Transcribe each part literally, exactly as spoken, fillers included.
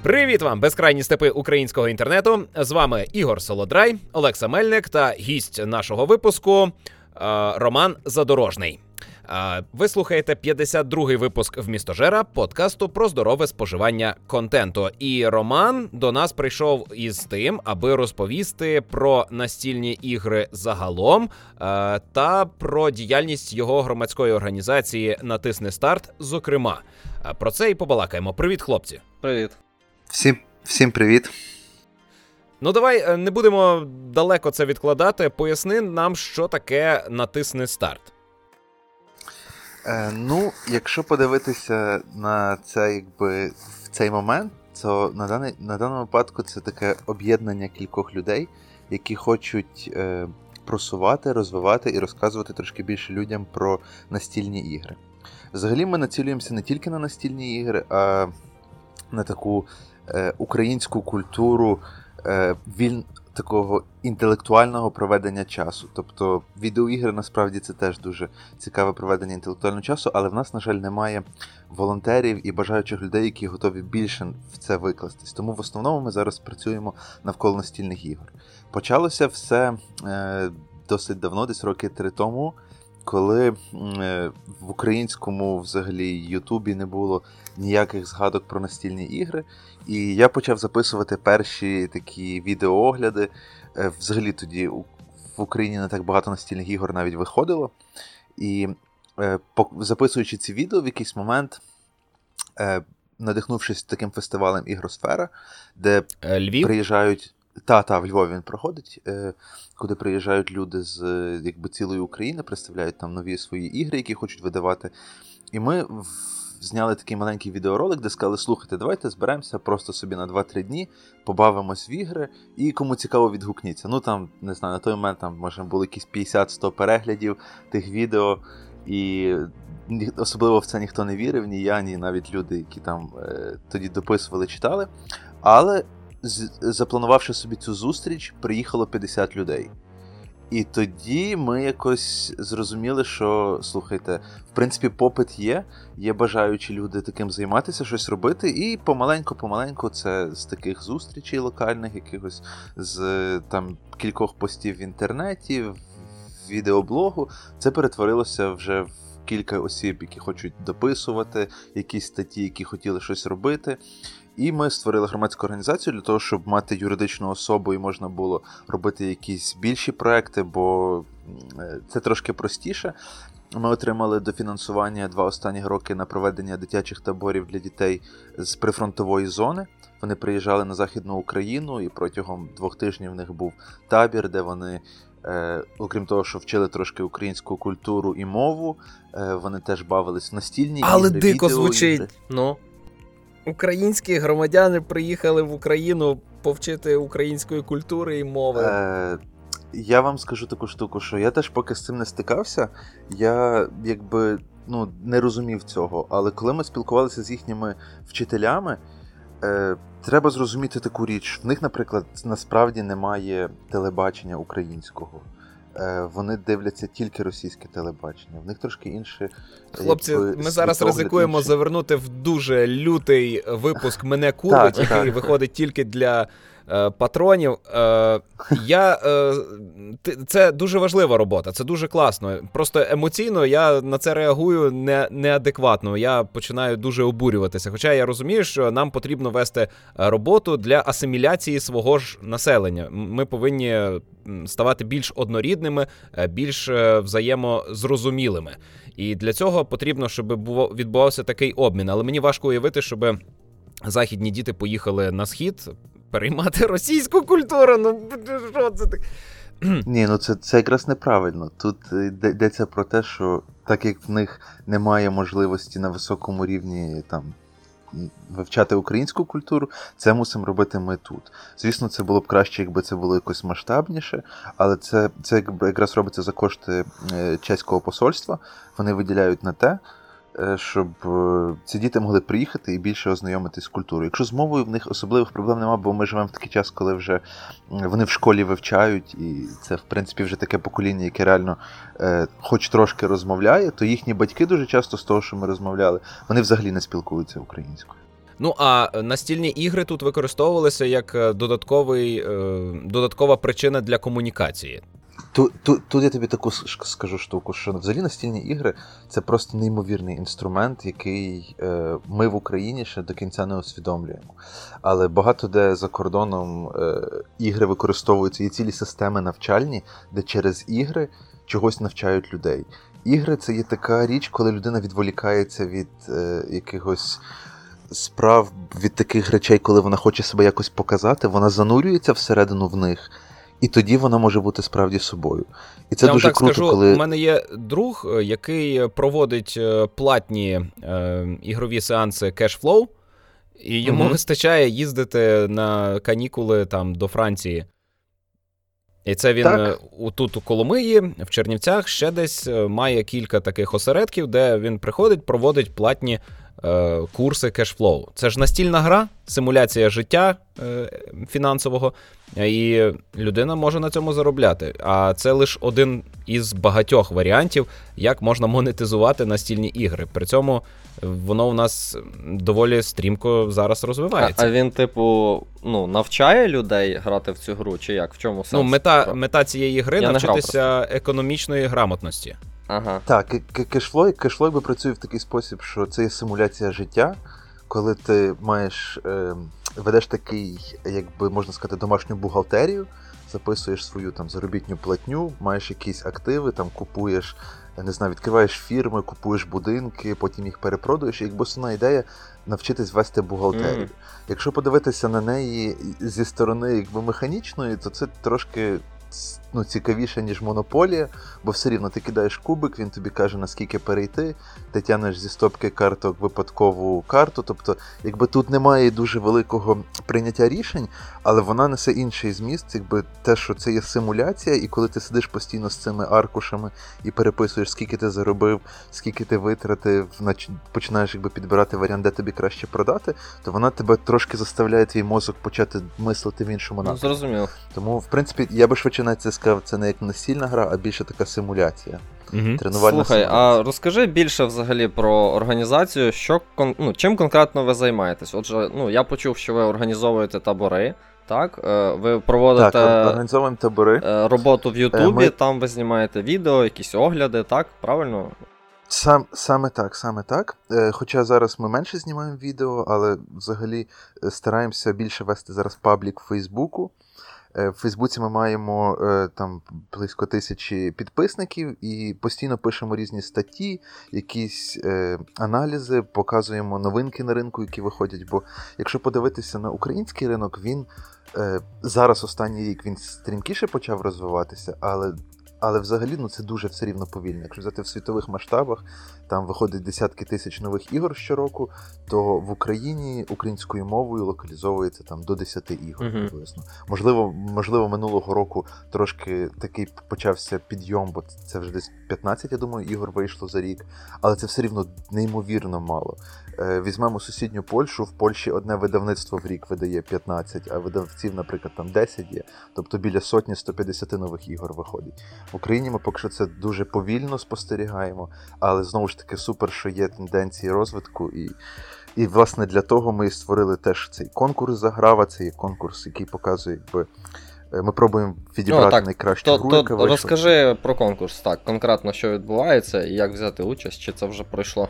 Привіт вам, безкрайні степи українського інтернету. З вами Ігор Солодрай, Олекса Мельник та гість нашого випуску Роман Задорожний. Ви слухаєте п'ятдесят другий випуск «Вмістожера» подкасту про здорове споживання контенту. І Роман до нас прийшов із тим, аби розповісти про настільні ігри загалом та про діяльність його громадської організації «Натисни старт», зокрема. Про це і побалакаємо. Привіт, хлопці. Привіт. Всім, всім привіт. Ну, давай не будемо далеко це відкладати. Поясни нам, що таке «Натисни старт». Е, ну, якщо подивитися на це, якби, в цей момент, то на, даний, на даному випадку це таке об'єднання кількох людей, які хочуть е, просувати, розвивати і розказувати трошки більше людям про настільні ігри. Взагалі ми націлюємося не тільки на настільні ігри, а на таку е, українську культуру е, віль... такого інтелектуального проведення часу. Тобто відеоігри насправді це теж дуже цікаве проведення інтелектуального часу, але в нас, на жаль, немає волонтерів і бажаючих людей, які готові більше в це викластись. Тому в основному ми зараз працюємо навколо настільних ігор. Почалося все е, досить давно, десь роки три тому, коли е, в українському взагалі Ютубі не було ніяких згадок про настільні ігри. І я почав записувати перші такі відеоогляди. Е, взагалі тоді в Україні не так багато настільних ігор навіть виходило. І е, по, записуючи ці відео, в якийсь момент, е, надихнувшись таким фестивалем «Ігросфера», де Львів? приїжджають... Та-та, в Львові він проходить, е, куди приїжджають люди з якби, цілої України, представляють там нові свої ігри, які хочуть видавати. І ми в... зняли такий маленький відеоролик, де сказали, слухайте, давайте зберемося просто собі на два-три дні, побавимось в ігри, і кому цікаво, відгукніться. Ну там, не знаю, на той момент там, може, було якісь п'ятдесят-сто переглядів тих відео, і особливо в це ніхто не вірив, ні я, ні навіть люди, які там е, тоді дописували, читали. Але запланувавши собі цю зустріч, приїхало п'ятдесят людей. І тоді ми якось зрозуміли, що, слухайте, в принципі, попит є, є бажаючі люди таким займатися, щось робити, і помаленьку-помаленьку це з таких зустрічей локальних, якихось з там кількох постів в інтернеті, в відеоблогу, це перетворилося вже в кілька осіб, які хочуть дописувати, якісь статті, які хотіли щось робити. І ми створили громадську організацію для того, щоб мати юридичну особу і можна було робити якісь більші проекти, бо це трошки простіше. Ми отримали дофінансування два останні роки на проведення дитячих таборів для дітей з прифронтової зони. Вони приїжджали на Західну Україну, і протягом двох тижнів в них був табір, де вони, е, окрім того, що вчили трошки українську культуру і мову, е, вони теж бавились в настільні ігри, але дико відеоігри. звучить. Ну. Українські громадяни приїхали в Україну повчити української культури і мови. Е, я вам скажу таку штуку, що я теж поки з цим не стикався, я якби ну, не розумів цього. Але коли ми спілкувалися з їхніми вчителями, е, треба зрозуміти таку річ. В них, наприклад, насправді немає телебачення українського. Вони дивляться тільки російське телебачення. В них трошки інші... Хлопці, якби, ми зараз ризикуємо інші. завернути в дуже лютий випуск «Мене курить», який так. виходить тільки для е, патронів. Е, я, е, це дуже важлива робота, це дуже класно. Просто емоційно я на це реагую не, неадекватно. Я починаю дуже обурюватися. Хоча я розумію, що нам потрібно вести роботу для асиміляції свого ж населення. Ми повинні ставати більш однорідними, більш взаємозрозумілими. І для цього потрібно, щоб відбувався такий обмін. Але мені важко уявити, щоб західні діти поїхали на схід переймати російську культуру. Ну, що це так? Ні, ну це, це якраз неправильно. Тут йдеться про те, що так як в них немає можливості на високому рівні там вивчати українську культуру, це мусимо робити ми тут. Звісно, це було б краще, якби це було якось масштабніше, але це, це якраз робиться за кошти чеського посольства. Вони виділяють на те, щоб ці діти могли приїхати і більше ознайомитись з культурою. Якщо з мовою в них особливих проблем немає, бо ми живемо в такий час, коли вже вони в школі вивчають, і це, в принципі, вже таке покоління, яке реально е, хоч трошки розмовляє, то їхні батьки дуже часто з того, що ми розмовляли, вони взагалі не спілкуються українською. Ну, а настільні ігри тут використовувалися як додатковий, додаткова причина для комунікації. Тут, тут, тут я тобі таку скажу штуку, що взагалі настільні ігри – це просто неймовірний інструмент, який е, ми в Україні ще до кінця не усвідомлюємо. Але багато де за кордоном е, ігри використовуються, є цілі системи навчальні, де через ігри чогось навчають людей. Ігри – це є така річ, коли людина відволікається від е, якихось справ, від таких речей, коли вона хоче себе якось показати, вона занурюється всередину в них, і тоді вона може бути справді собою. І це Я дуже вам так круто, скажу, коли... У мене є друг, який проводить платні е, ігрові сеанси Cashflow, і йому mm-hmm. вистачає їздити на канікули там до Франції. І це він так. тут у Коломиї, в Чернівцях, ще десь має кілька таких осередків, де він приходить, проводить платні е, курси Cashflow. Це ж настільна гра, симуляція життя е, фінансового, і людина може на цьому заробляти. А це лише один із багатьох варіантів, як можна монетизувати настільні ігри. При цьому воно у нас доволі стрімко зараз розвивається. А, а він, типу, ну, навчає людей грати в цю гру, чи як? В чому сенс? Ну, мета, мета цієї гри – навчитися економічної грамотності. Ага. Так, кешфлой, кешфлой би працює в такий спосіб, що це є симуляція життя, коли ти маєш, е, ведеш такий, якби можна сказати, домашню бухгалтерію, записуєш свою там заробітню платню, маєш якісь активи, там купуєш, не знаю, відкриваєш фірми, купуєш будинки, потім їх перепродуєш, і якби основна ідея навчитись вести бухгалтерію. Mm. Якщо подивитися на неї зі сторони якби механічної, то це трошки ну, цікавіше, ніж монополія, бо все рівно ти кидаєш кубик, він тобі каже, наскільки перейти, ти тянеш зі стопки карток випадкову карту, тобто, якби тут немає дуже великого прийняття рішень, але вона несе інший зміст, якби те, що це є симуляція, і коли ти сидиш постійно з цими аркушами і переписуєш, скільки ти заробив, скільки ти витратив, починаєш якби підбирати варіант, де тобі краще продати, то вона тебе трошки заставляє твій мозок почати мислити в іншому напрямку. Ну, зрозуміло. Тому, в принципі, я би швидше навіть це сказав, це не як настільна гра, а більше така симуляція. Угу. Тренувальна Слухай, симуляція. А розкажи більше взагалі про організацію, що, ну, чим конкретно ви займаєтесь? Отже, ну, я почув, що ви організовуєте табори, так? Ви проводите так, організовуємо табори. Роботу в Ютубі, Ми... там ви знімаєте відео, якісь огляди, так? Правильно? Сам, саме так, саме так. Хоча зараз ми менше знімаємо відео, але взагалі стараємося більше вести зараз паблік в Фейсбуку. В Фейсбуці ми маємо там близько тисячі підписників і постійно пишемо різні статті, якісь е, аналізи, показуємо новинки на ринку, які виходять. Бо якщо подивитися на український ринок, він е, зараз останній рік він стрімкіше почав розвиватися, але Але взагалі ну, це дуже все рівно повільно. Якщо взяти в світових масштабах, там виходить десятки тисяч нових ігор щороку, то в Україні українською мовою локалізовується там до десяти ігор приблизно. Uh-huh. Можливо, можливо, минулого року трошки такий почався підйом, бо це вже десь п'ятнадцять, я думаю, ігор вийшло за рік, але це все рівно неймовірно мало. Візьмемо сусідню Польщу, в Польщі одне видавництво в рік видає п'ятнадцять, а видавців, наприклад, там десять є, тобто біля сотні сто п'ятдесят нових ігор виходить. В Україні ми поки що це дуже повільно спостерігаємо, але знову ж таки супер, що є тенденції розвитку, і, і власне для того ми створили теж цей конкурс «Заграва», це є конкурс, який показує, якби ми пробуємо відібрати О, так, найкращу то, гру, то, яка вийшла. Розкажи про конкурс, так, конкретно що відбувається і як взяти участь, чи це вже пройшло?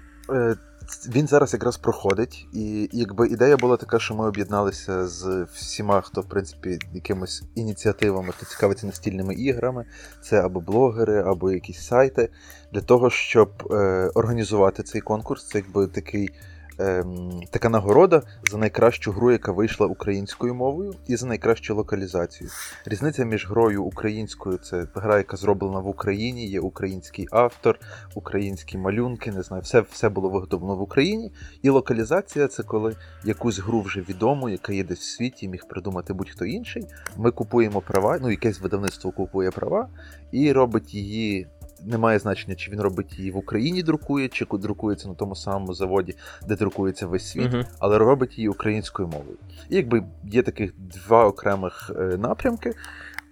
Він зараз якраз проходить, і якби ідея була така, що ми об'єдналися з всіма, хто, в принципі, якимось ініціативами, хто цікавиться настільними іграми, це або блогери, або якісь сайти, для того, щоб е, організувати цей конкурс. Це якби такий, е, така нагорода за найкращу гру, яка вийшла українською мовою, і за найкращу локалізацію. Різниця між грою українською – це гра, яка зроблена в Україні, є український автор, українські малюнки, не знаю, все, все було виготовлено в Україні. І локалізація – це коли якусь гру вже відому, яка є десь в світі, міг придумати будь-хто інший. Ми купуємо права, ну якесь видавництво купує права і робить її. Немає значення, чи він робить її в Україні друкує, чи друкується на тому самому заводі, де друкується весь світ, uh-huh. але робить її українською мовою. І якби є таких два окремих е, напрямки.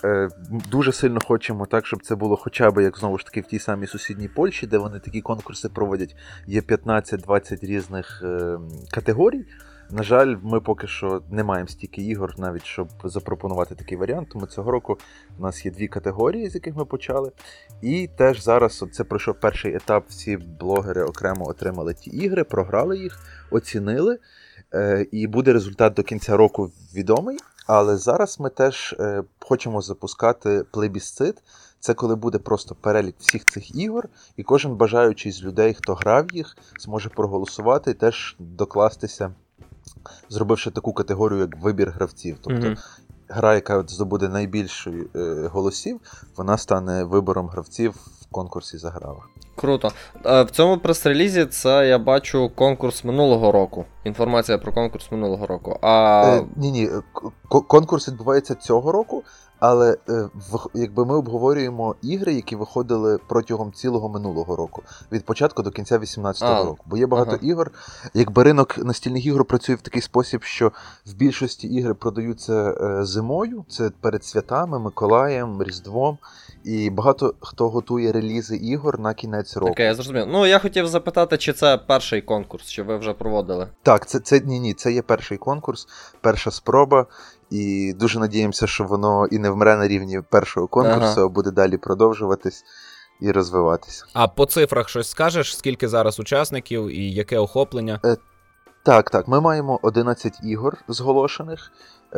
е, дуже сильно хочемо так, щоб це було хоча б, як знову ж таки, в тій самій сусідній Польщі, де вони такі конкурси проводять, є п'ятнадцять-двадцять різних е, категорій. На жаль, ми поки що не маємо стільки ігор, навіть щоб запропонувати такий варіант, тому цього року у нас є дві категорії, з яких ми почали. І теж зараз, от це пройшов перший етап, всі блогери окремо отримали ті ігри, програли їх, оцінили, е, і буде результат до кінця року відомий. Але зараз ми теж е, хочемо запускати плебісцит. Це коли буде просто перелік всіх цих ігор, і кожен бажаючий з людей, хто грав їх, зможе проголосувати і теж докластися, зробивши таку категорію, як вибір гравців. Тобто mm-hmm. гра, яка здобуде найбільше е, голосів, вона стане вибором гравців в конкурсі «Заграва». Круто. В цьому прес-релізі це я бачу конкурс минулого року. Інформація про конкурс минулого року. А... Е, ні-ні, конкурс відбувається цього року, але е, в, якби ми обговорюємо ігри, які виходили протягом цілого минулого року. Від початку до кінця вісімнадцятого року. Бо є багато ага. ігор. Якби ринок настільних ігор працює в такий спосіб, що в більшості ігри продаються е, зимою, це перед святами, Миколаєм, Різдвом. І багато хто готує релізи ігор на кінець року. Окей, я зрозумів. Ну, я хотів запитати, чи це перший конкурс, чи ви вже проводили? Так, це, це ні-ні, це є перший конкурс, перша спроба. І дуже надіємося, що воно і не вмре на рівні першого конкурсу, ага. а буде далі продовжуватись і розвиватися. А по цифрах щось скажеш? Скільки зараз учасників і яке охоплення? Е, так, так. Ми маємо одинадцять ігор зголошених.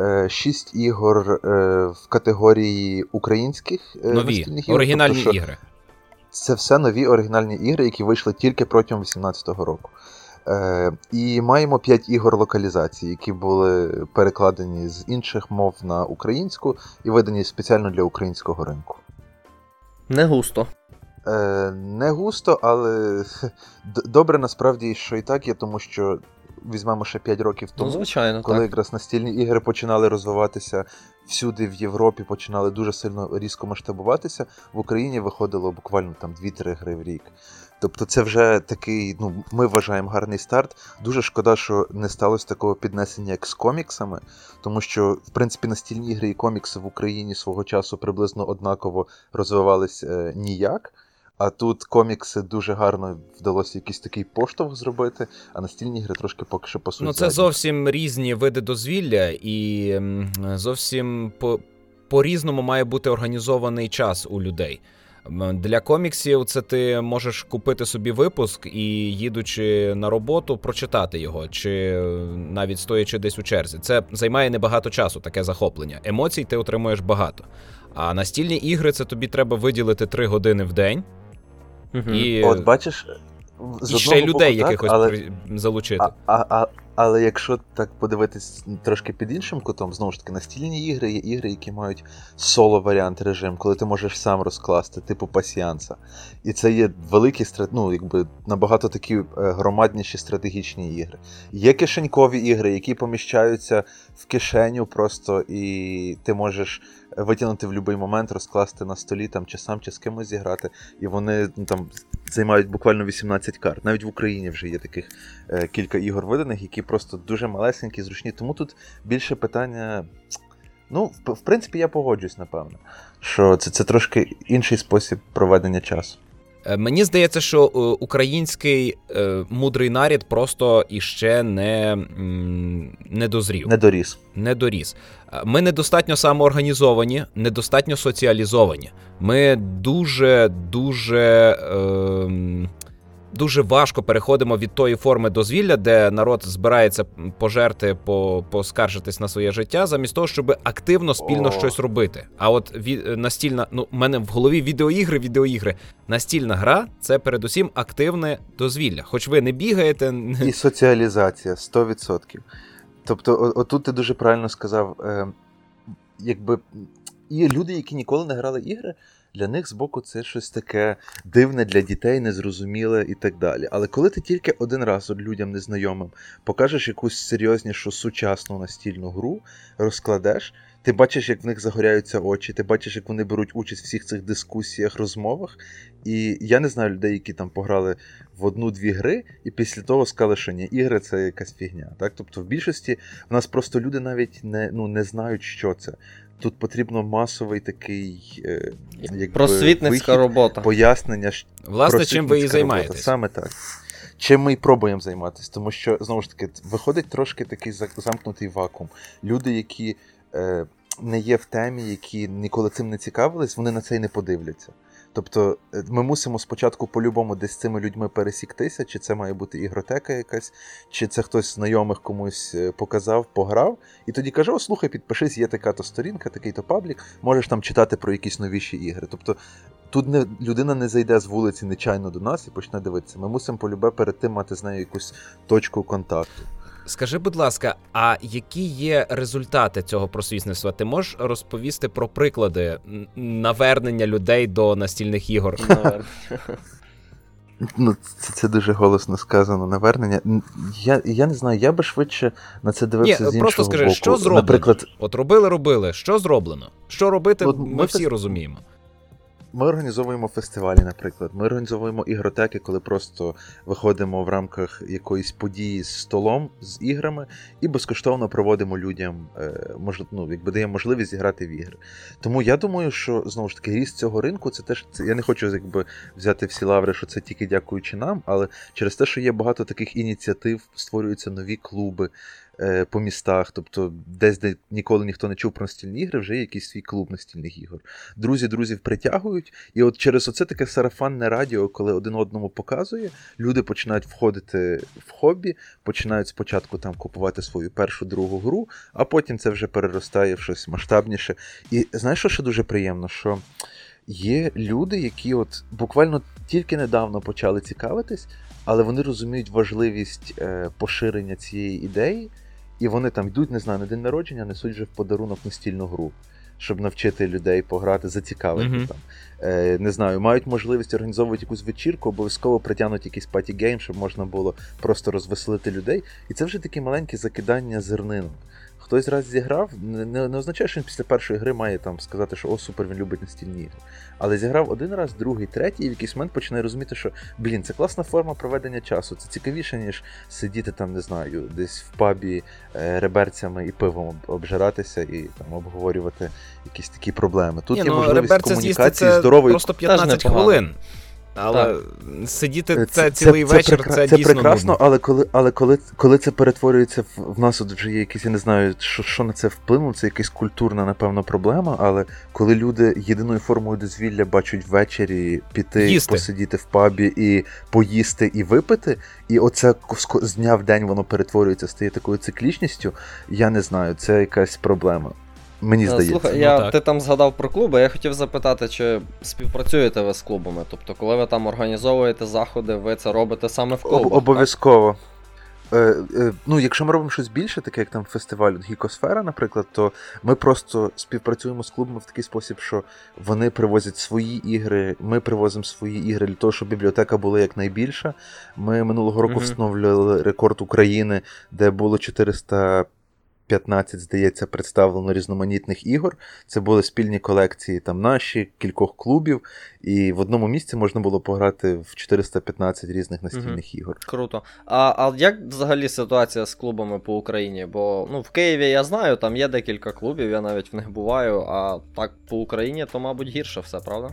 шість ігор е, в категорії українських е, нові, ігор. оригінальні тобто, ігри. Це все нові оригінальні ігри, які вийшли тільки протягом вісімнадцятого року. Е, і маємо п'ять ігор локалізації, які були перекладені з інших мов на українську і видані спеціально для українського ринку. Не густо. Е, не густо, але добре насправді, що і так є, тому що візьмемо ще п'ять років тому, ну, звичайно, коли так. якраз настільні ігри починали розвиватися всюди в Європі, починали дуже сильно різко масштабуватися, в Україні виходило буквально там дві-три гри в рік. Тобто це вже такий, ну, ми вважаємо, гарний старт. Дуже шкода, що не сталося такого піднесення, як з коміксами, тому що, в принципі, настільні ігри і комікси в Україні свого часу приблизно однаково розвивались е, ніяк. А тут комікси дуже гарно вдалося якийсь такий поштовх зробити, а настільні ігри трошки поки що пасують. Ну, це зовсім різні види дозвілля, і зовсім по, по-різному має бути організований час у людей. Для коміксів це ти можеш купити собі випуск і, їдучи на роботу, прочитати його, чи навіть стоячи десь у черзі. Це займає небагато часу, таке захоплення. Емоцій ти отримуєш багато. А настільні ігри – це тобі треба виділити три години в день. Угу. І, От бачиш, з і ще й людей боку, якихось так, але, залучити. А, а, а, але якщо так подивитись трошки під іншим кутом, знову ж таки, настільні ігри є ігри, які мають соло-варіант режим, коли ти можеш сам розкласти, типу пасіанса. І це є великі, ну, якби, набагато такі громадніші стратегічні ігри. Є кишенькові ігри, які поміщаються в кишеню просто, і ти можеш витягнути в будь-який момент, розкласти на столі, там, чи сам, чи з кимось зіграти, і вони, ну, там, займають буквально вісімнадцять карт. Навіть в Україні вже є таких е, кілька ігор виданих, які просто дуже малесенькі, зручні. Тому тут більше питання... Ну, в, в принципі, я погоджуюсь, напевно, що це, це трошки інший спосіб проведення часу. Мені здається, що український е, мудрий нарід просто іще не, не дозрів. Не доріс. Не доріс. Ми недостатньо самоорганізовані, недостатньо соціалізовані. Ми дуже-дуже... Е, Дуже важко переходимо від тої форми дозвілля, де народ збирається пожерти, по, поскаржитись на своє життя, замість того, щоб активно, спільно О. щось робити. А от від, настільна, ну, в мене в голові відеоігри, відеоігри. Настільна гра – це передусім активне дозвілля. Хоч ви не бігаєте... І соціалізація, сто відсотків. Тобто, отут ти дуже правильно сказав, е, якби, і люди, які ніколи не грали ігри, для них збоку це щось таке дивне для дітей, незрозуміле і так далі. Але коли ти тільки один раз от людям незнайомим покажеш якусь серйознішу сучасну настільну гру, розкладеш, ти бачиш, як в них загоряються очі, ти бачиш, як вони беруть участь в всіх цих дискусіях, розмовах. І я не знаю людей, які там пограли в одну-дві гри, і після того сказали, що ні, ігри – це якась фігня. Так? Тобто в більшості в нас просто люди навіть не, ну, не знають, що це. тут потрібно масовий такий е, якби, просвітницька вихід, робота. Пояснення. Власне, чим ви і займаєтесь. Робота. Саме так. Чим ми і пробуємо займатися, тому що, знову ж таки, виходить трошки такий замкнутий вакуум. Люди, які е, не є в темі, які ніколи цим не цікавились, вони на це й не подивляться. Тобто ми мусимо спочатку по-любому десь з цими людьми пересіктися, чи це має бути ігротека якась, чи це хтось знайомих комусь показав, пограв, і тоді каже: о, слухай, підпишись, є така-то сторінка, такий-то паблік, можеш там читати про якісь новіші ігри. Тобто тут не, людина не зайде з вулиці нечайно до нас і почне дивитися. Ми мусимо полюбе перед тим мати з нею якусь точку контакту. Скажи, будь ласка, а які є результати цього просвітництва? Ти можеш розповісти про приклади навернення людей до настільних ігор? Ну, це, це дуже голосно сказано, навернення. Я, я не знаю, я би швидше на це дивився Ні, з іншого просто скажи, боку. Що зроблено? Наприклад, От робили-робили, що зроблено? Що робити, От ми, ми всі фест... розуміємо. Ми організовуємо фестивалі, наприклад. Ми організовуємо ігротеки, коли просто виходимо в рамках якоїсь події з столом, з іграми, і безкоштовно проводимо людям, мож... ну, якби даємо можливість зіграти в ігри. Тому я думаю, що, знову ж таки, ріст цього ринку, це теж, це... я не хочу якби взяти всі лаври, що це тільки дякуючи нам, але через те, що є багато таких ініціатив, створюються нові клуби по містах, тобто десь, де ніколи ніхто не чув про настільні ігри, вже є якийсь свій клуб настільних ігор. Друзі друзів притягують, і от через оце таке сарафанне радіо, коли один одному показує, люди починають входити в хобі, починають спочатку там купувати свою першу, другу гру, а потім це вже переростає в щось масштабніше. І знаєш, що ще дуже приємно? Що є люди, які от буквально тільки недавно почали цікавитись, але вони розуміють важливість е, поширення цієї ідеї, і вони там йдуть, не знаю, на день народження, несуть вже в подарунок настільну гру, щоб навчити людей пограти, зацікавити mm-hmm. там. Е, не знаю, мають можливість організовувати якусь вечірку, обов'язково притягнуть якийсь паті-гейм, щоб можна було просто розвеселити людей. І це вже такі маленькі закидання зернинок. Хтось раз зіграв, не, не, не означає, що він після першої гри має там сказати, що о, супер, він любить настільні ігри. Але зіграв один раз, другий, третій, і в якийсь момент починає розуміти, що, блін, це класна форма проведення часу, це цікавіше, ніж сидіти там, не знаю, десь в пабі е, реберцями і пивом обжиратися і там обговорювати якісь такі проблеми. Тут Ні, є ну, можливість комунікації це здорової. Просто п'ятнадцять хвилин. Але так. сидіти це, це цілий це, вечір, це, це, це дійсно прекрасно, нудно. але коли, але коли, коли це перетворюється в, в нас, от вже є якісь, я не знаю, що, що на це вплинуло, це якась культурна, напевно, проблема, але коли люди єдиною формою дозвілля бачать ввечері піти, Їсти. посидіти в пабі і поїсти і випити, і оце з дня в день воно перетворюється, стає такою циклічністю, я не знаю, це якась проблема. Мені здається. Слухай, ну, я, так. ти там згадав про клуби, я хотів запитати, чи співпрацюєте ви з клубами? Тобто, коли ви там організовуєте заходи, ви це робите саме в клубах? Обов'язково. Е, е, ну, якщо ми робимо щось більше, таке як там фестиваль Гікосфера, наприклад, то ми просто співпрацюємо з клубами в такий спосіб, що вони привозять свої ігри, ми привозимо свої ігри для того, щоб бібліотека була якнайбільша. Ми минулого року mm-hmm. встановлювали рекорд України, де було чотириста п'ятнадцять, здається, представлено різноманітних ігор. Це були спільні колекції там наші, кількох клубів, і в одному місці можна було пограти в чотириста п'ятнадцять різних настільних угу. ігор. Круто. А, а як взагалі ситуація з клубами по Україні? Бо ну, в Києві я знаю, там є декілька клубів, я навіть в них буваю, а так по Україні то, мабуть, гірше все, правда?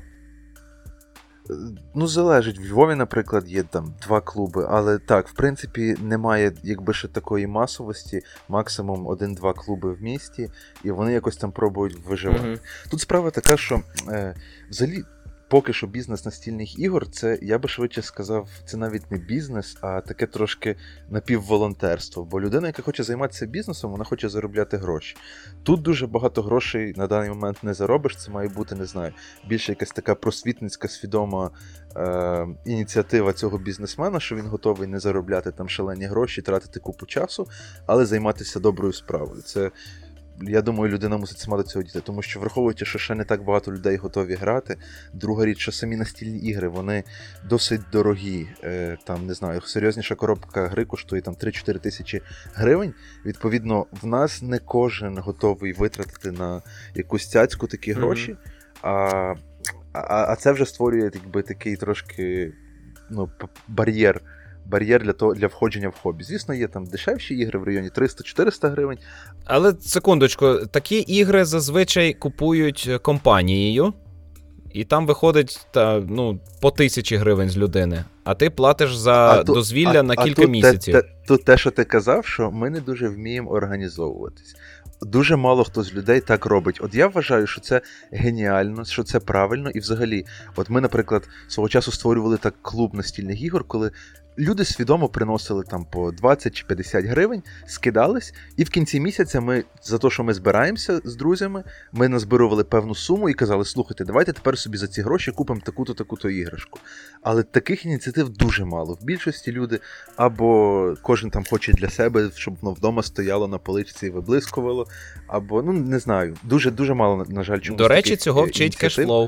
Ну, залежить. В Львові, наприклад, є там два клуби, але так, в принципі, немає, якби ще такої масовості, максимум один-два клуби в місті, і вони якось там пробують виживати. Mm-hmm. Тут справа така, що е, взагалі, поки що бізнес настільних ігор, це, я би швидше сказав, це навіть не бізнес, а таке трошки напівволонтерство. Бо людина, яка хоче займатися бізнесом, вона хоче заробляти гроші. Тут дуже багато грошей на даний момент не заробиш, це має бути, не знаю, більше якась така просвітницька, свідома е- ініціатива цього бізнесмена, що він готовий не заробляти там шалені гроші, тратити купу часу, але займатися доброю справою. Це я думаю, людина мусить сама до цього дійти, тому що враховуючи, що ще не так багато людей готові грати, друга річ, що самі настільні ігри, вони досить дорогі, е, там, не знаю, серйозніша коробка гри коштує там три-чотири тисячі гривень, відповідно, в нас не кожен готовий витратити на якусь цяцьку такі гроші, mm-hmm. а, а, а це вже створює, якби, такий трошки, ну, бар'єр бар'єр для того, для входження в хобі. Звісно, є там дешевші ігри в районі триста-чотириста гривень. Але, секундочку, такі ігри зазвичай купують компанією, і там виходить та, ну, по тисячі гривень з людини, а ти платиш за а дозвілля ту, а, на а кілька тут місяців. Те, те, тут те, що ти казав, що ми не дуже вміємо організовуватись. Дуже мало хто з людей так робить. От я вважаю, що це геніально, що це правильно, і взагалі, от ми, наприклад, свого часу створювали так клуб настільних ігор, коли люди свідомо приносили там по двадцять чи п'ятдесят гривень, скидались, і в кінці місяця ми, за те, що ми збираємося з друзями, ми назбирували певну суму і казали, слухайте, давайте тепер собі за ці гроші купимо таку-то, таку-то іграшку. Але таких ініціатив дуже мало. В більшості люди або кожен там хоче для себе, щоб воно вдома стояло на поличці і виблискувало, або, ну, не знаю, дуже-дуже мало, на жаль, чомусь. До речі, цього вчить кешфлоу.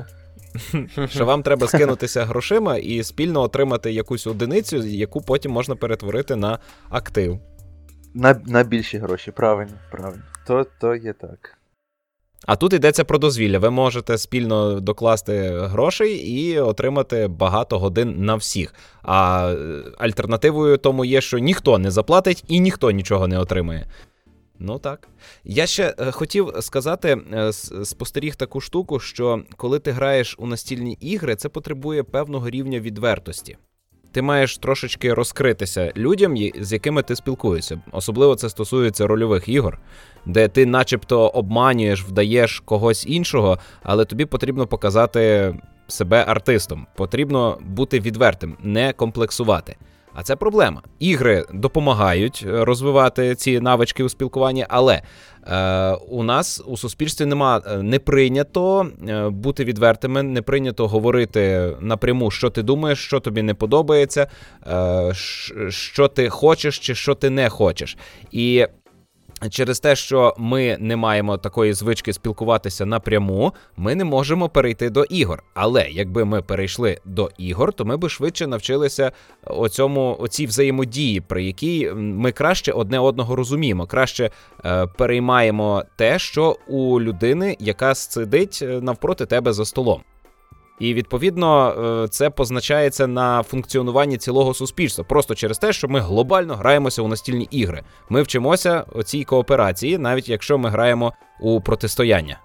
Що вам треба скинутися грошима і спільно отримати якусь одиницю, яку потім можна перетворити на актив. На, на більші гроші, правильно, правильно. То, то є так. А тут йдеться про дозвілля. Ви можете спільно докласти грошей і отримати багато годин на всіх. А альтернативою тому є, що ніхто не заплатить і ніхто нічого не отримає. Ну так. Я ще е, хотів сказати, е, спостеріг таку штуку, що коли ти граєш у настільні ігри, це потребує певного рівня відвертості. Ти маєш трошечки розкритися людям, з якими ти спілкуєшся. Особливо це стосується рольових ігор, де ти начебто обманюєш, вдаєш когось іншого, але тобі потрібно показати себе артистом. Потрібно бути відвертим, не комплексувати. А це проблема. Ігри допомагають розвивати ці навички у спілкуванні, але е, у нас у суспільстві нема, не прийнято е, бути відвертими, не прийнято говорити напряму, що ти думаєш, що тобі не подобається, е, що ти хочеш чи що ти не хочеш. І через те, що ми не маємо такої звички спілкуватися напряму, ми не можемо перейти до ігор. Але якби ми перейшли до ігор, то ми би швидше навчилися оцьому, оцій взаємодії, при якій ми краще одне одного розуміємо, краще е, переймаємо те, що у людини, яка сидить навпроти тебе за столом. І, відповідно, це позначається на функціонуванні цілого суспільства. Просто через те, що ми глобально граємося у настільні ігри. Ми вчимося оцій кооперації, навіть якщо ми граємо у протистояння.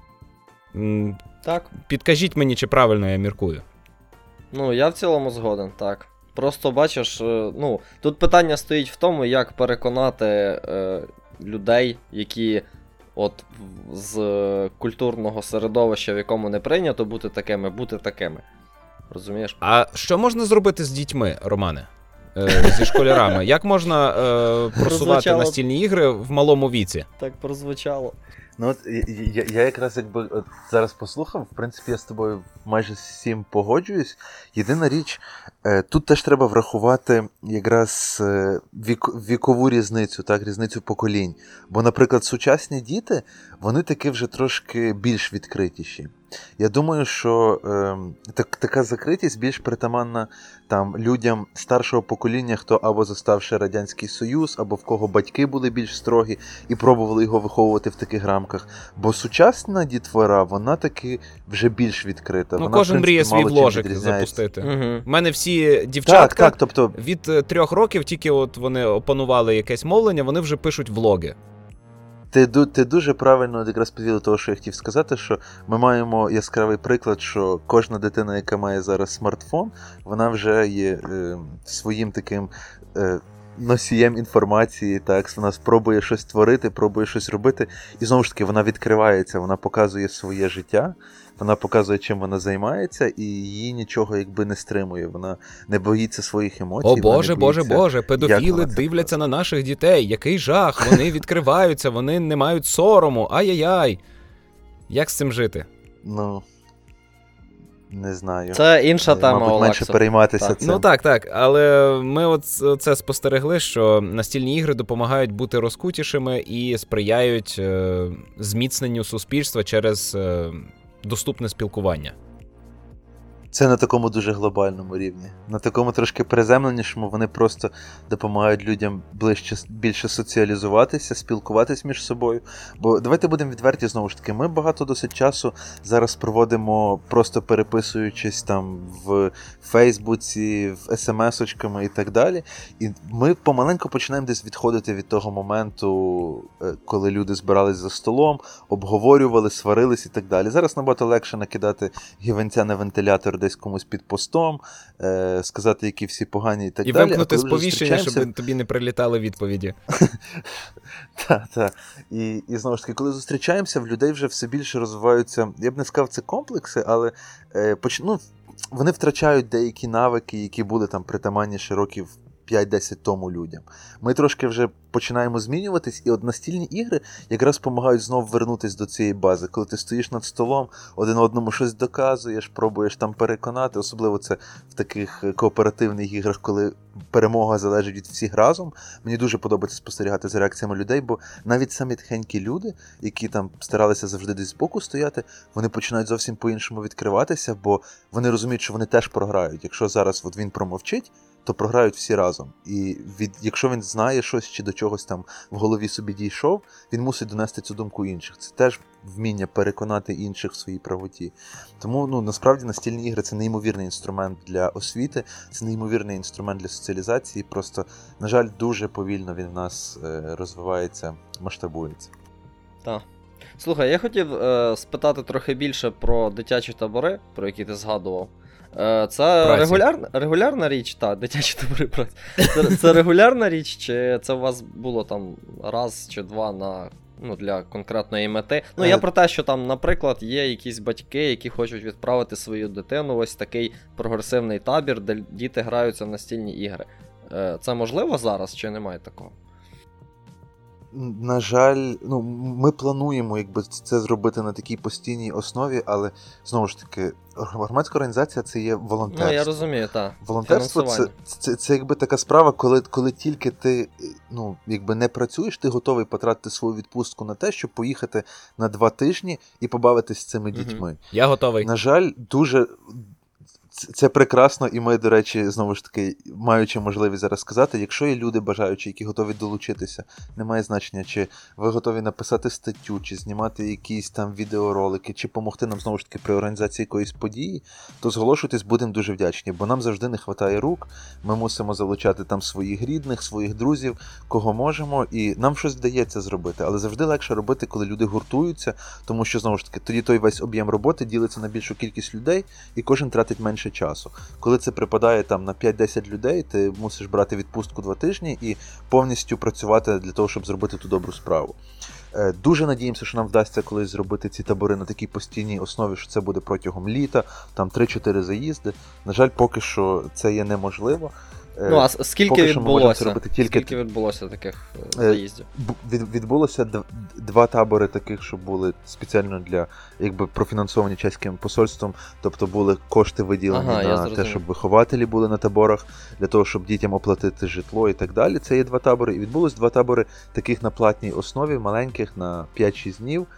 Так. Підкажіть мені, чи правильно я міркую. Ну, я в цілому згоден, так. Просто, бачиш, ну, тут питання стоїть в тому, як переконати е, людей, які... От з культурного середовища, в якому не прийнято бути такими, бути такими. Розумієш? А що можна зробити з дітьми, Романе? Е, зі школярами? Як можна е, просувати настільні ігри в малому віці? Так прозвучало. Ну от я, я якраз якби от зараз послухав, в принципі, я з тобою майже всім погоджуюсь. Єдина річ, тут теж треба врахувати якраз вік, вікову різницю, так, різницю поколінь. Бо, наприклад, сучасні діти, вони таки вже трошки більш відкритіші. Я думаю, що е, так, така закритість більш притаманна там людям старшого покоління, хто або застав ще Радянський Союз, або в кого батьки були більш строгі і пробували його виховувати в таких рамках. Бо сучасна дітвора, вона таки вже більш відкрита. Ну, вона, кожен в принципі, мріє свій вложик відрізняється. запустити. Угу. У мене всі дівчатка так, так, тобто... від трьох років, тільки от вони опанували якесь мовлення, вони вже пишуть влоги. Ти, ти дуже правильно якраз підвів того, що я хотів сказати, що ми маємо яскравий приклад, що кожна дитина, яка має зараз смартфон, вона вже є е, своїм таким е, носієм інформації, так, вона спробує щось творити, пробує щось робити, і знову ж таки вона відкривається, вона показує своє життя, вона показує, чим вона займається, і її нічого якби не стримує, вона не боїться своїх емоцій. О боже, боже, боїться, боже, педофіли дивляться на наших дітей, який жах, вони відкриваються, вони не мають сорому, ай-яй-яй. Як з цим жити? Ну, не знаю. Це інша тема, Мабуть, Олексо. менше перейматися так. цим. Ну так, так, але ми от це спостерегли, що настільні ігри допомагають бути розкутішими і сприяють е, зміцненню суспільства через е, доступне спілкування. Це на такому дуже глобальному рівні. На такому трошки приземленішому вони просто допомагають людям ближче, більше соціалізуватися, спілкуватись між собою. Бо давайте будемо відверті, знову ж таки, ми багато досить часу зараз проводимо просто переписуючись там в Фейсбуці, в смс-очками і так далі. І ми помаленьку починаємо десь відходити від того моменту, коли люди збирались за столом, обговорювали, сварились і так далі. Зараз набагато легше накидати гівенця на вентилятор десь комусь під постом, е, сказати, які всі погані і так і далі. І вимкнути сповіщення, зустрічаємося... щоб тобі не прилітали відповіді. Так, так. І, і знову ж таки, коли зустрічаємося, в людей вже все більше розвиваються, я б не сказав, це комплекси, але е, поч... ну, вони втрачають деякі навики, які були там притаманні ще років п'ять-десять тому людям. Ми трошки вже починаємо змінюватись, і от настільні ігри якраз допомагають знову вернутися до цієї бази. Коли ти стоїш над столом, один одному щось доказуєш, пробуєш там переконати, особливо це в таких кооперативних іграх, коли перемога залежить від всіх разом. Мені дуже подобається спостерігати за реакціями людей, бо навіть самі тихенькі люди, які там старалися завжди десь збоку стояти, вони починають зовсім по-іншому відкриватися, бо вони розуміють, що вони теж програють. Якщо зараз от він промовчить, то програють всі разом. І від, якщо він знає щось чи до чогось там в голові собі дійшов, він мусить донести цю думку інших. Це теж вміння переконати інших в своїй правоті. Тому, ну, насправді, настільні ігри – це неймовірний інструмент для освіти, це неймовірний інструмент для соціалізації. Просто, на жаль, дуже повільно він в нас е, розвивається, масштабується. Так. Слухай, я хотів е, спитати трохи більше про дитячі табори, про які ти згадував. Це регулярна, регулярна річ, так, дитячі табори праці. Це, це регулярна річ, чи це у вас було там раз чи два на, ну, для конкретної мети? Ну, я про те, що там, наприклад, є якісь батьки, які хочуть відправити свою дитину в ось такий прогресивний табір, де діти граються в настільні ігри. Це можливо зараз, чи немає такого? На жаль, ну, ми плануємо, якби, це зробити на такій постійній основі, але, знову ж таки, громадська організація – це є волонтерство. Ну, я розумію, так. Волонтерство – це, це, це якби така справа, коли, коли тільки ти, ну, якби не працюєш, ти готовий потратити свою відпустку на те, щоб поїхати на два тижні і побавитись з цими угу. дітьми. Я готовий. На жаль, дуже... Це прекрасно, і ми, до речі, знову ж таки, маючи можливість зараз сказати, якщо є люди бажаючі, які готові долучитися, немає значення, чи ви готові написати статтю, чи знімати якісь там відеоролики, чи допомогти нам, знову ж таки, при організації якоїсь події, то зголошуйтесь, будемо дуже вдячні, бо нам завжди не вистачає рук, ми мусимо залучати там своїх рідних, своїх друзів, кого можемо, і нам щось вдається зробити, але завжди легше робити, коли люди гуртуються, тому що, знову ж таки, тоді той весь об'єм роботи ділиться на більшу кількість людей, і кожен тратить менше часу. Коли це припадає там на п'ять-десять людей, ти мусиш брати відпустку два тижні і повністю працювати для того, щоб зробити ту добру справу. Дуже надіємося, що нам вдасться колись зробити ці табори на такій постійній основі, що це буде протягом літа, там три-чотири заїзди. На жаль, поки що це є неможливо. Ну, а скільки відбулося? Тільки... Скільки відбулося таких заїздів? Від, відбулося д- два табори таких, що були спеціально для, якби, профінансовані чеським посольством, тобто були кошти виділені ага, на те, щоб вихователі були на таборах, для того, щоб дітям оплатити житло і так далі. Це є два табори. І відбулось два табори таких на платній основі, маленьких, на п'ять-шість днів.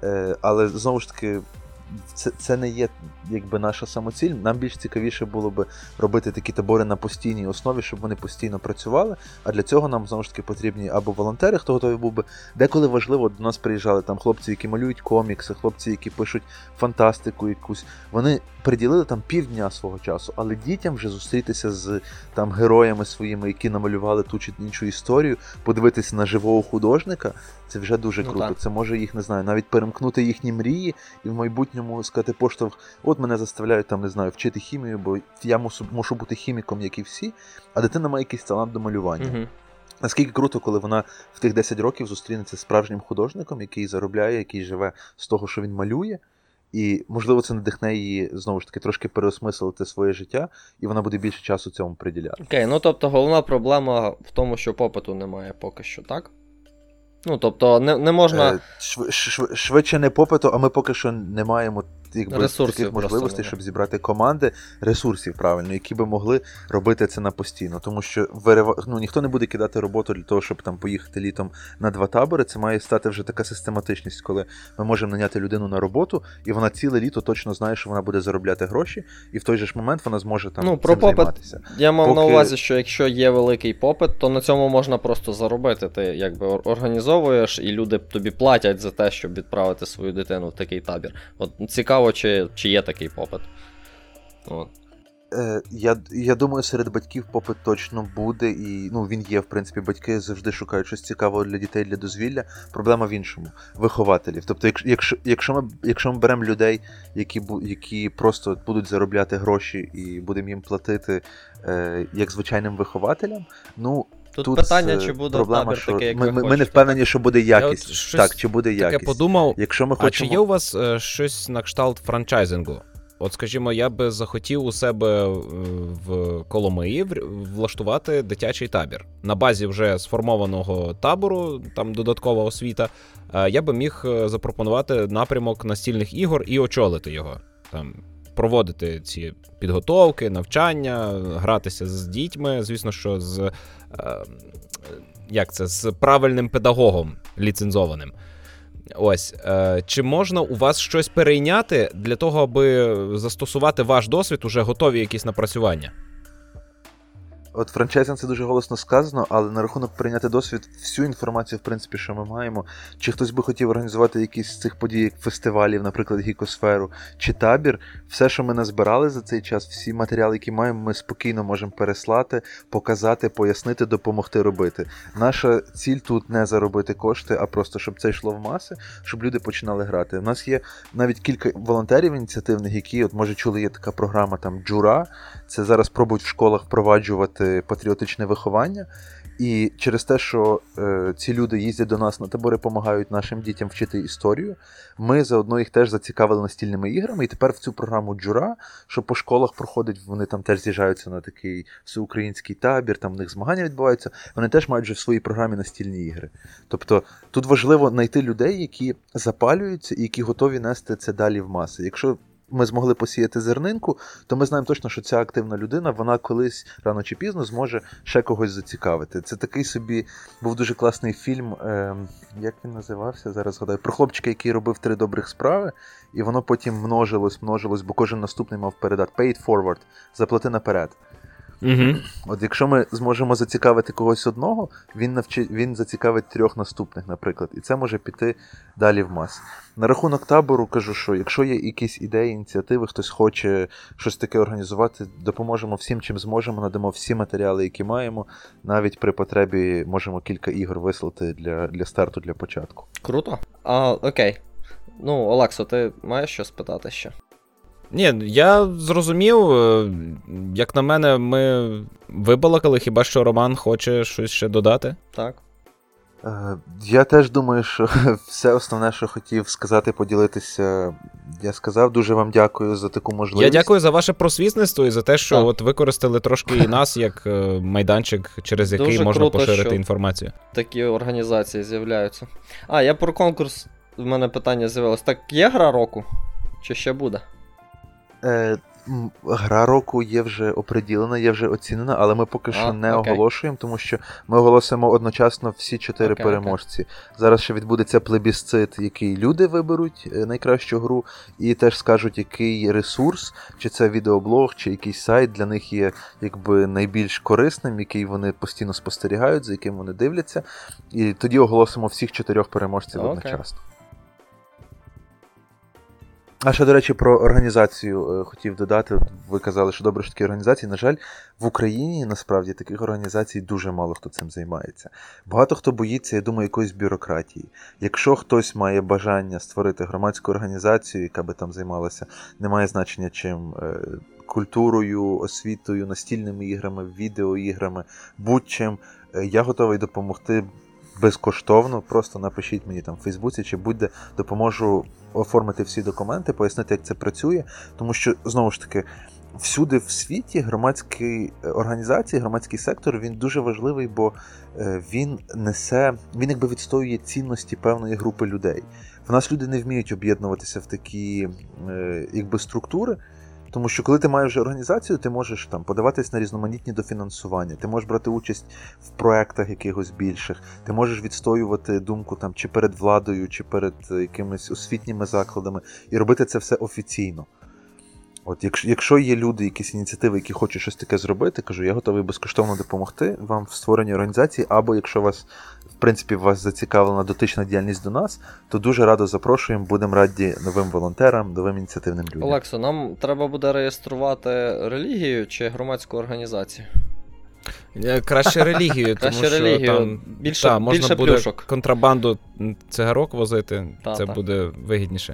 Але, знову ж таки, Це, це не є, якби, наша самоціль. Нам більш цікавіше було би робити такі табори на постійній основі, щоб вони постійно працювали, а для цього нам, знову ж таки, потрібні або волонтери, хто готовий був би. Деколи важливо, до нас приїжджали там хлопці, які малюють комікси, хлопці, які пишуть фантастику якусь. Вони приділили там півдня свого часу, але дітям вже зустрітися з там героями своїми, які намалювали ту чи іншу історію, подивитися на живого художника, це вже дуже ну, круто. Так. Це може їх, не знаю, навіть перемкнути їхні мрії і в майбутньому сказати поштовх, от мене заставляють там, не знаю, вчити хімію, бо я мушу, мушу бути хіміком, як і всі, а дитина має якийсь талант до малювання. Угу. Наскільки круто, коли вона в тих десять років зустрінеться з справжнім художником, який заробляє, який живе з того, що він малює, і, можливо, це надихне її, знову ж таки, трошки переосмислити своє життя, і вона буде більше часу цьому приділяти. Окей, ну тобто головна проблема в тому, що попиту немає поки що, так? Ну, тобто, не, не можна... Шв, шв, швидше не попиту, а ми поки що не маємо якби, ресурсів таких можливостей, немає. щоб зібрати команди ресурсів, правильно, які би могли робити це на постійно. Тому що вирива... ну, ніхто не буде кидати роботу для того, щоб там поїхати літом на два табори. Це має стати вже така систематичність, коли ми можемо наняти людину на роботу, і вона ціле літо точно знає, що вона буде заробляти гроші, і в той же ж момент вона зможе там ну, цим про попит, займатися. Я мав Поки... на увазі, що якщо є великий попит, то на цьому можна просто заробити. Ти якби організовуєш, і люди тобі платять за те, щоб відправити свою дитину в такий табір. От цікаво, чи, чи є такий попит. От. Е, я, я думаю, серед батьків попит точно буде, і ну, він є, в принципі, батьки завжди шукають щось цікавого для дітей, для дозвілля. Проблема в іншому – вихователів. Тобто, якщо, якщо, ми, якщо ми беремо людей, які, які просто будуть заробляти гроші і будемо їм платити е, як звичайним вихователям, ну, Тут, тут питання, чи буде проблема, табір що такий, як ми, ви ми, хочете. ми не впевнені, що буде якість. щось Так, чи буде якість. Таке подумав, Якщо ми а хочемо... чи є у вас е, щось на кшталт франчайзингу? От, скажімо, я би захотів у себе в Коломиї влаштувати дитячий табір. На базі вже сформованого табору, там додаткова освіта, я би міг запропонувати напрямок настільних ігор і очолити його. Там, проводити ці підготовки, навчання, гратися з дітьми, звісно, що з, як це, з правильним педагогом ліцензованим. Ось, е, чи можна у вас щось перейняти для того, аби застосувати ваш досвід, уже готові якісь напрацювання? От франчайзинг це дуже голосно сказано, але на рахунок прийняти досвід, всю інформацію, в принципі, що ми маємо, чи хтось би хотів організувати якісь з цих подій, як фестивалів, наприклад, Гікосферу, чи табір, все, що ми назбирали за цей час, всі матеріали, які маємо, ми спокійно можемо переслати, показати, пояснити, допомогти робити. Наша ціль тут не заробити кошти, а просто, щоб це йшло в маси, щоб люди починали грати. У нас є навіть кілька волонтерів ініціативних, які, от, може, чули, є така програма, там, Джура, це зараз пробують в школах впроваджувати патріотичне виховання, і через те, що е, ці люди їздять до нас на табори, допомагають нашим дітям вчити історію, ми заодно їх теж зацікавили настільними іграми, і тепер в цю програму Джура, що по школах проходить, вони там теж з'їжджаються на такий всеукраїнський табір, там в них змагання відбуваються, вони теж мають вже в своїй програмі настільні ігри. Тобто тут важливо знайти людей, які запалюються і які готові нести це далі в маси. Якщо ми змогли посіяти зернинку, то ми знаємо точно, що ця активна людина, вона колись, рано чи пізно, зможе ще когось зацікавити. Це такий собі, був дуже класний фільм, е, як він називався, зараз згадаю, про хлопчика, який робив три добрих справи, і воно потім множилось, множилось, бо кожен наступний мав передати. Pay it forward, заплати наперед. Угу. От якщо ми зможемо зацікавити когось одного, він, навчи... він зацікавить трьох наступних, наприклад, і це може піти далі в мас. На рахунок табору кажу, що якщо є якісь ідеї, ініціативи, хтось хоче щось таке організувати, допоможемо всім, чим зможемо, надамо всі матеріали, які маємо, навіть при потребі можемо кілька ігор вислати для, для старту, для початку. Круто. А, окей. Ну, Олексо, ти маєш що спитати ще? Ні, я зрозумів, як на мене, ми вибалакали, хіба що Роман хоче щось ще додати? Так. Я теж думаю, що все основне, що хотів сказати, поділитися, я сказав. Дуже вам дякую за таку можливість. Я дякую за ваше просвітництво і за те, що так. от використали трошки і нас як майданчик, через який Дуже можна круто, поширити що інформацію. Такі організації з'являються. А, я про конкурс, в мене питання з'явилось. Так, є гра року? Чи ще буде? Е, гра року є вже оприділена, є вже оцінена, але ми поки що а, не окей. оголошуємо, тому що ми оголосимо одночасно всі чотири окей, переможці. Окей. Зараз ще відбудеться плебісцит, який люди виберуть найкращу гру, і теж скажуть, який ресурс, чи це відеоблог, чи якийсь сайт для них є якби найбільш корисним, який вони постійно спостерігають, за яким вони дивляться. І тоді оголосимо всіх чотирьох переможців окей. одночасно. А ще, до речі, про організацію е, хотів додати. Ви казали, що добре, що такі організації. На жаль, в Україні, насправді, таких організацій дуже мало хто цим займається. Багато хто боїться, я думаю, якоїсь бюрократії. Якщо хтось має бажання створити громадську організацію, яка би там займалася, немає значення чим, е, культурою, освітою, настільними іграми, відеоіграми, будь-чим, е, я готовий допомогти безкоштовно, просто напишіть мені там в Фейсбуці чи будь-де, допоможу оформити всі документи, пояснити, як це працює, тому що, знову ж таки, всюди в світі громадські організації, громадський сектор, він дуже важливий, бо він несе, він якби відстоює цінності певної групи людей. в нас люди не вміють об'єднуватися в такі е, якби структури, тому що коли ти маєш вже організацію, ти можеш там подаватись на різноманітні дофінансування, ти можеш брати участь в проектах якихось більших, ти можеш відстоювати думку там чи перед владою, чи перед якимись освітніми закладами, і робити це все офіційно. От, якщо, якщо є люди, якісь ініціативи, які хочуть щось таке зробити, кажу, я готовий безкоштовно допомогти вам в створенні організації, або якщо вас, в принципі, вас зацікавлена дотична діяльність до нас, то дуже радо запрошуємо, будемо раді новим волонтерам, новим ініціативним людям. Олексо, нам треба буде реєструвати релігію чи громадську організацію? Краще релігію, тому Краще що релігію. там Більше, та, можна більше буде плюшок. контрабанду цигарок возити, Та, це та. буде вигідніше.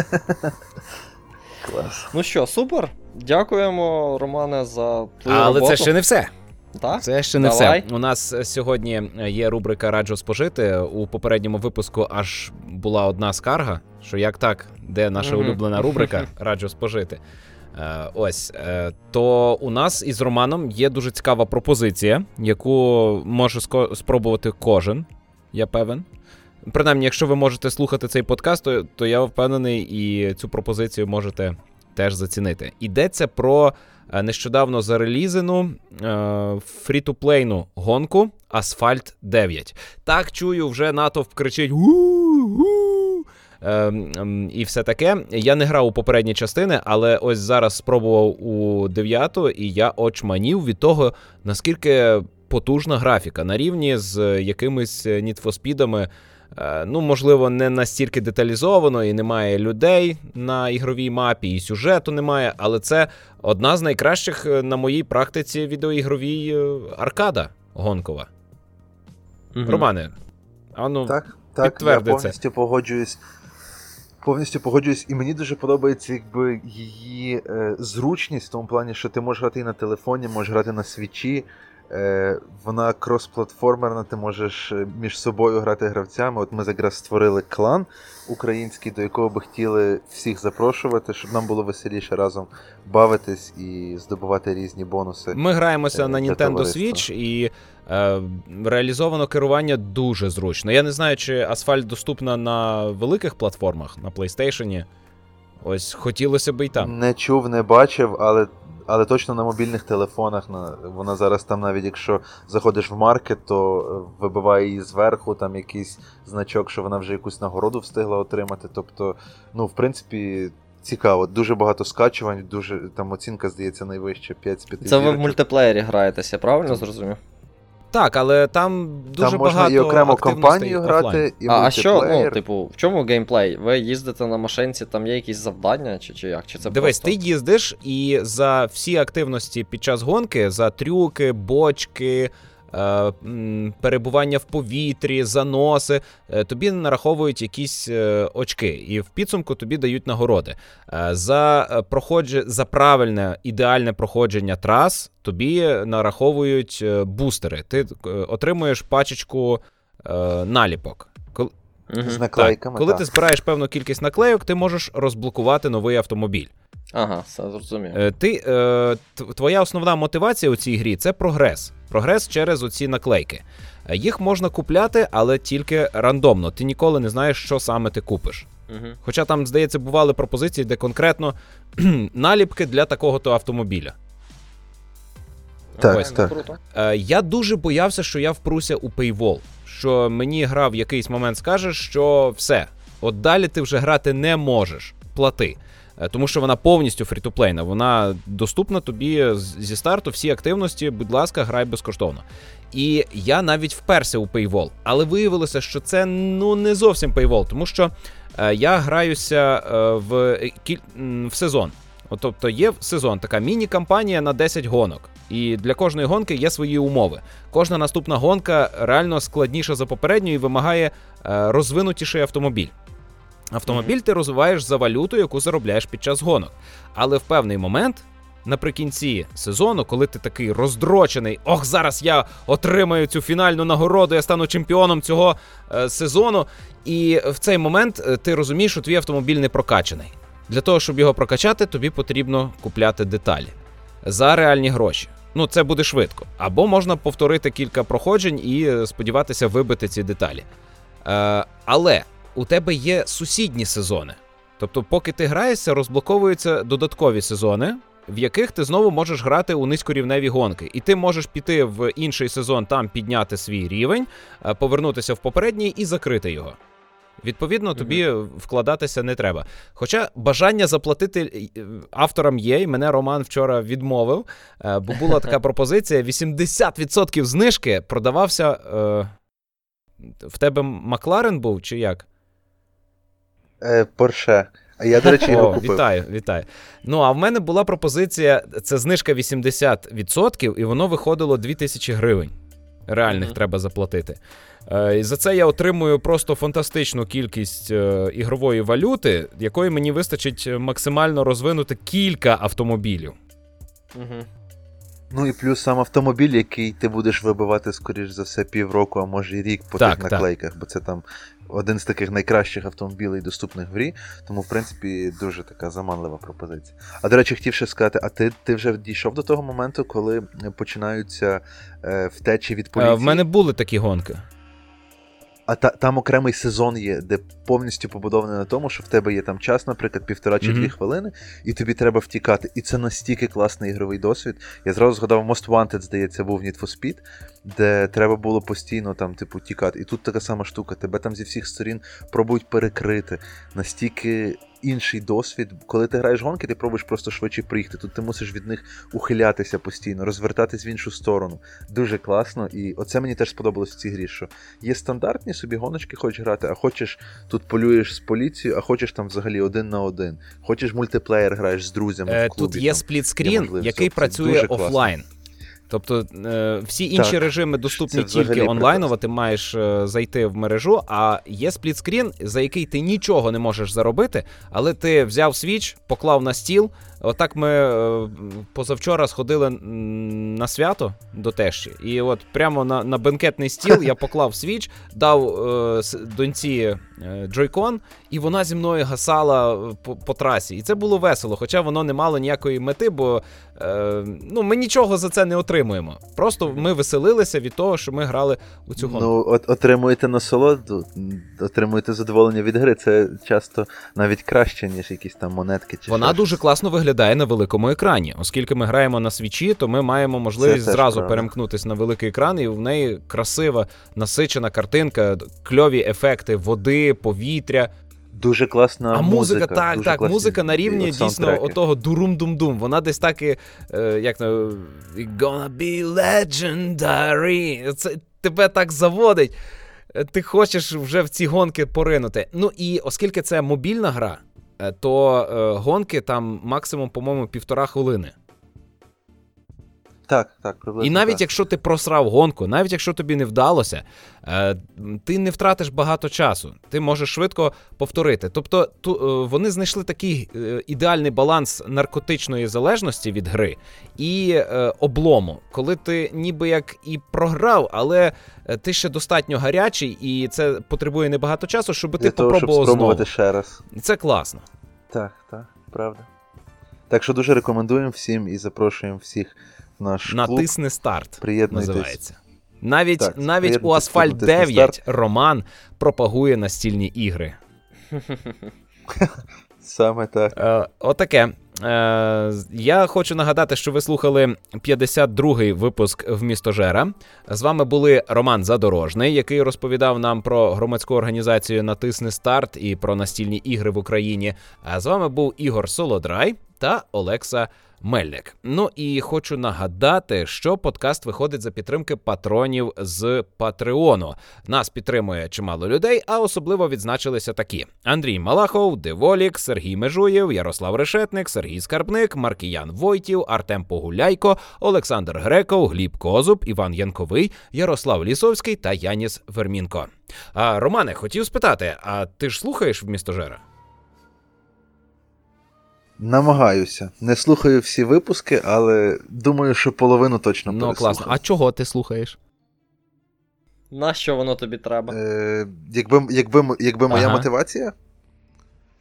Клас. Ну що, супер. Дякуємо, Романе, за твою Але роботу. це ще не все. Так? Це ще не Давай. все. У нас сьогодні є рубрика «Раджу спожити». У попередньому випуску аж була одна скарга, що як так, де наша Мгм. улюблена рубрика «Раджу спожити». Е, Ось, е, то у нас із Романом є дуже цікава пропозиція, яку може ско- спробувати кожен, я певен. Принаймні, якщо ви можете слухати цей подкаст, то, то я впевнений, і цю пропозицію можете теж зацінити. Йдеться про е, нещодавно зарелізену е, фрі-ту-плейну гонку Асфальт дев'ять. Так, чую, вже натовп кричить «У-у-у!» е, ем, і все таке. Я не грав у попередні частини, але ось зараз спробував у дев'яту, і я очманів від того, наскільки потужна графіка. На рівні з якимись Need for Speed'ами. Ну, можливо, не настільки деталізовано, і немає людей на ігровій мапі, і сюжету немає, але це одна з найкращих на моїй практиці відеоігровій аркада гонкова. Мгм. Романе, а ну, Так, так, я підтверди це. повністю погоджуюсь. Повністю погоджуюсь, і мені дуже подобається якби її е, зручність в тому плані, що ти можеш грати і на телефоні, можеш грати на свічі. Е, вона кросплатформерна, ти можеш між собою грати гравцями. От ми якраз створили клан український, до якого би хотіли всіх запрошувати, щоб нам було веселіше разом бавитись і здобувати різні бонуси. Ми граємося е, на для Nintendo товариства. Switch, і е, реалізовано керування дуже зручно. Я не знаю, чи Асфальт доступна на великих платформах, на PlayStation. Ось, хотілося б і там. Не чув, не бачив, але, але точно на мобільних телефонах. На, вона зараз там, навіть якщо заходиш в маркет, то е, вибиває її зверху, там якийсь значок, що вона вже якусь нагороду встигла отримати. Тобто, ну, в принципі, цікаво. Дуже багато скачувань, дуже, там оцінка, здається, найвища, п'ять з п'яти Це ви в зірочок. мультиплеєрі граєтеся, я правильно зрозумів? Так, але там дуже Там можна багато і окремо активностей компанію офлайн. грати, і А, а що, мультиплеєр. ну, типу, в чому геймплей? Ви їздите на машинці, там є якісь завдання, чи, чи як? Чи це Дивись, просто... ти їздиш, і за всі активності під час гонки, за трюки, бочки, е, м, перебування в повітрі, заноси, е, тобі нараховують якісь е, очки, і в підсумку тобі дають нагороди. Е, за, е, проходження, за правильне, ідеальне проходження трас тобі нараховують е, бустери. Ти е, отримуєш пачечку е, наліпок. Кол- Мгм. З наклейками, так, коли так. ти збираєш певну кількість наклейок, ти можеш розблокувати новий автомобіль. Ага, все зрозумів. Е, Ти, е, т- твоя основна мотивація у цій грі – це прогрес. Прогрес через оці наклейки. Е, Їх можна купляти, але тільки рандомно. Ти ніколи не знаєш, що саме ти купиш. Угу. Хоча там, здається, бували пропозиції, де конкретно наліпки для такого-то автомобіля. Так, Ось. так. Круто. Е, Я дуже боявся, що я впруся у Paywall. Що мені гра в якийсь момент скаже, що все, от далі ти вже грати не можеш, плати. Е, Тому що вона повністю фрі-ту-плейна, вона доступна тобі з- зі старту, всі активності, будь ласка, грай безкоштовно. І я навіть вперся у Paywall, але виявилося, що це ну не зовсім Paywall, тому що е, я граюся е, в, е, кіль... м, в сезон. От, тобто є сезон, така міні-кампанія на десять гонок. І для кожної гонки є свої умови. Кожна наступна гонка реально складніша за попередню і вимагає е, розвинутіший автомобіль. Автомобіль ти розвиваєш за валюту, яку заробляєш під час гонок. Але в певний момент, наприкінці сезону, коли ти такий роздрочений, ох, зараз я отримаю цю фінальну нагороду, я стану чемпіоном цього е, сезону, і в цей момент е, ти розумієш, що твій автомобіль не прокачаний. Для того, щоб його прокачати, тобі потрібно купляти деталі за реальні гроші. Ну, це буде швидко. Або можна повторити кілька проходжень і сподіватися вибити ці деталі. Е, але у тебе є сусідні сезони. Тобто, поки ти граєшся, розблоковуються додаткові сезони, в яких ти знову можеш грати у низькорівневі гонки. І ти можеш піти в інший сезон, там підняти свій рівень, повернутися в попередній і закрити його. Відповідно, тобі mm-hmm. вкладатися не треба. Хоча бажання заплатити авторам є, і мене Роман вчора відмовив, бо була така пропозиція, вісімдесят відсотків знижки продавався... Е... В тебе Макларен був, чи як? Е, Порше. А я, до речі, його О, купив. Вітаю, вітаю. Ну, а в мене була пропозиція, це знижка вісімдесят відсотків, і воно виходило дві тисячі гривень. Реальних mm-hmm. треба заплатити. Е, і за це я отримую просто фантастичну кількість е, ігрової валюти, якої мені вистачить максимально розвинути кілька автомобілів. Mm-hmm. Ну і плюс сам автомобіль, який ти будеш вибивати, скоріш за все, півроку, а може і рік по так, тих наклейках, так. Бо це там один з таких найкращих автомобілів, доступних в грі, тому, в принципі, дуже така заманлива пропозиція. А, до речі, хотів ще сказати, а ти, ти вже дійшов до того моменту, коли починаються е, втечі від поліції? Е, в мене були такі гонки. А та, там окремий сезон є, де повністю побудований на тому, що в тебе є там час, наприклад, півтора чи mm-hmm. дві хвилини, і тобі треба втікати. І це настільки класний ігровий досвід. Я зразу згадав, Most Wanted, здається, був Need for Speed, де треба було постійно там, типу, тікати. І тут така сама штука. Тебе там зі всіх сторін пробують перекрити. Настільки інший досвід. Коли ти граєш гонки, ти пробуєш просто швидше приїхати. Тут ти мусиш від них ухилятися постійно, розвертатись в іншу сторону. Дуже класно. І оце мені теж сподобалось в цій грі, що є стандартні собі гоночки, хочеш грати, а хочеш тут полюєш з поліцією, а хочеш там взагалі один на один. Хочеш мультиплеєр граєш з друзями е, в клубі. Тут є сплітскрін, який працює офлайн. Тобто е, всі інші так. режими доступні тільки онлайново, ти маєш е, зайти в мережу, а є сплітскрін, за який ти нічого не можеш заробити, але ти взяв Switch, поклав на стіл. Отак ми е, позавчора сходили на свято до тещі, і от прямо на, на бенкетний стіл я поклав Switch, дав е, доньці е, джойкон, і вона зі мною гасала по, по трасі. І це було весело, хоча воно не мало ніякої мети, бо е, ну, ми нічого за це не отримуємо. Просто ми веселилися від того, що ми грали у цю гонку. Ну, от, отримуєте насолоду, отримуєте задоволення від гри, це часто навіть краще, ніж якісь там монетки. Чи вона щось. дуже класно виглядає на великому екрані. Оскільки ми граємо на свічі, то ми маємо можливість зразу правда. перемкнутися на великий екран, і в неї красива, насичена картинка, кльові ефекти води, повітря. Дуже класна а музика. музика, так, так, музика на рівні дійсно отого дурум-дум-дум. Вона десь так і, е, як на gonna be legendary. Це тебе так заводить. Ти хочеш вже в ці гонки поринути. Ну і оскільки це мобільна гра, то е, гонки там максимум, по-моєму, півтора хвилини. Так, так, приблизно. І навіть так. якщо ти просрав гонку, навіть якщо тобі не вдалося, е, ти не втратиш багато часу. Ти можеш швидко повторити. Тобто ту, е, вони знайшли такий е, ідеальний баланс наркотичної залежності від гри і е, облому. Коли ти ніби як і програв, але ти ще достатньо гарячий, і це потребує небагато часу, щоб Для ти того, попробував щоб спробувати знову. ще раз. І це класно. Так, так, правда. Так що дуже рекомендуємо всім і запрошуємо всіх в наш клуб. Натисни старт, називається. Навіть, так, навіть у Асфальт дев'ять Роман пропагує настільні ігри. Саме так. Е, отаке. Е, я хочу нагадати, що ви слухали п'ятдесят другий випуск «Вмістожера». З вами були Роман Задорожний, який розповідав нам про громадську організацію «Натисни старт» і про настільні ігри в Україні. А з вами був Ігор Солодрай та Олекса Мельник. Ну і хочу нагадати, що подкаст виходить за підтримки патронів з Патреону. Нас підтримує чимало людей, а особливо відзначилися такі: Андрій Малахов, Деволік, Сергій Межуєв, Ярослав Решетник, Сергій Скарбник, Маркіян Войтів, Артем Погуляйко, Олександр Греков, Гліб Козуб, Іван Янковий, Ярослав Лісовський та Яніс Вермінко. А, Романе, хотів спитати, а ти ж слухаєш «Вмістожера»? Намагаюся. Не слухаю всі випуски, але думаю, що половину точно ну, переслухаю. Ну, класно. А чого ти слухаєш? Нащо воно тобі треба? Е, якби, якби, якби моя ага. мотивація?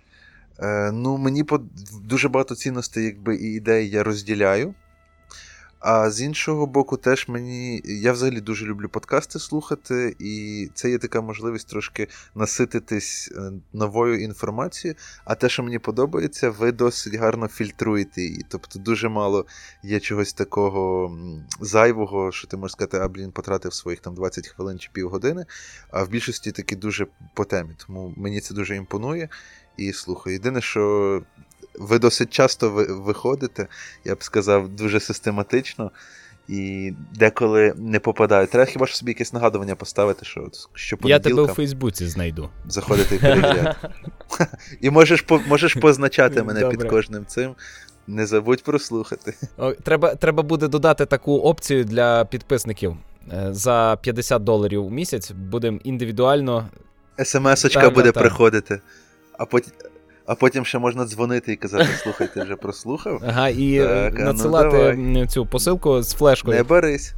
Е, ну, мені по, дуже багато цінностей якби, і ідей я розділяю. А з іншого боку, теж мені. Я взагалі дуже люблю подкасти слухати, і це є така можливість трошки насититись новою інформацією. А те, що мені подобається, ви досить гарно фільтруєте її. Тобто дуже мало є чогось такого зайвого, що ти можеш сказати, а блін, потратив своїх там двадцять хвилин чи півгодини. А в більшості таки дуже по темі. Тому мені це дуже імпонує. І слухаю. Єдине, що. Ви досить часто виходите, я б сказав, дуже систематично, і деколи не попадаю. Треба хіба що собі якесь нагадування поставити, що щопонеділка... Я тебе у Фейсбуці знайду. Заходити і перевіряти. І можеш, можеш позначати мене Добре. під кожним цим. Не забудь прослухати. О, треба, треба буде додати таку опцію для підписників. За п'ятдесят доларів у місяць будемо індивідуально... ес ем ес-очка буде приходити. А потім... А потім ще можна дзвонити і казати, слухай, ти вже прослухав? Ага, і так, надсилати ну, цю посилку з флешкою. Не борись.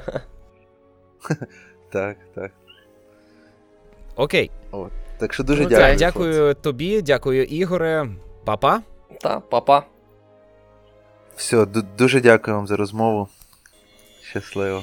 Так, так. Окей. О, так що дуже ну, дякую. Так, дякую хлопці. Тобі, дякую, Ігоре. Па-па. Та, па-па. Все, дуже дякую вам за розмову. Щасливо.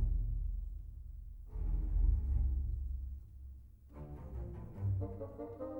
Thank you.